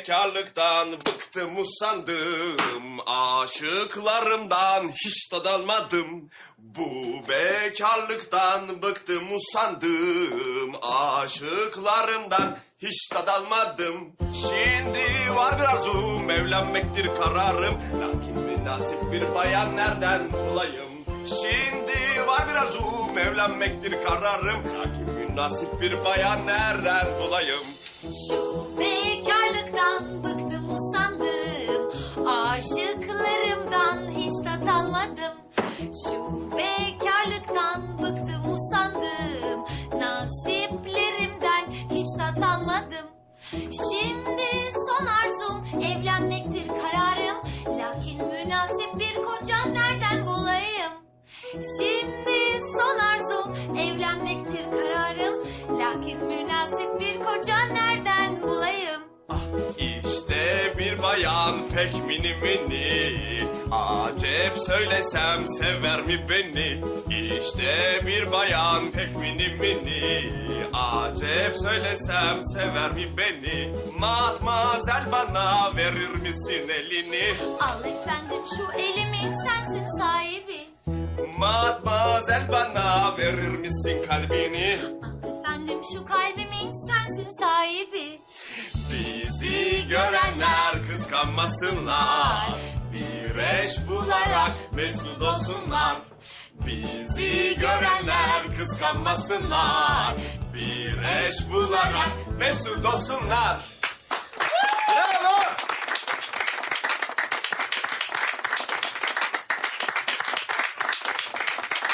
bekarlıktan bıktım usandım, aşıklarımdan hiç tad almadım. Bu bekarlıktan bıktım usandım, aşıklarımdan hiç tad almadım. Şimdi var bir arzum, evlenmektir kararım, lakin münasip bir bayan nereden bulayım? Şimdi var bir arzum, evlenmektir kararım, lakin münasip bir bayan nereden bulayım? Şu bekarlıktan bıktım usandım, aşıklarımdan hiç tat almadım. Şu bekarlıktan bıktım usandım, nasiplerimden hiç tat almadım. Şimdi son arzum evlenmektir kararım, lakin münasip bir koca nereden bulayım? Şimdi son arzum evlenmektir kararım, lakin münasip bir koca nereden bulayım? İşte bir bayan pek mini mini, acep söylesem sever mi beni? İşte bir bayan pek mini mini, acep söylesem sever mi beni? Matmazel bana verir misin elini? Al efendim şu elimin sensin sahibi. Matmazel bana verir misin kalbini? Al efendim şu kalbimin sensin sahibi. Bizi görenler kıskanmasınlar, bir eş bularak mesut olsunlar. Bizi görenler kıskanmasınlar, bir eş bularak mesut olsunlar.